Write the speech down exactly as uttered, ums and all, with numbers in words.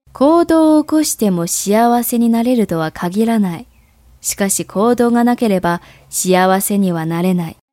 行動を起こしても幸せになれるとは限らない。しかし行動がなければ幸せにはなれない。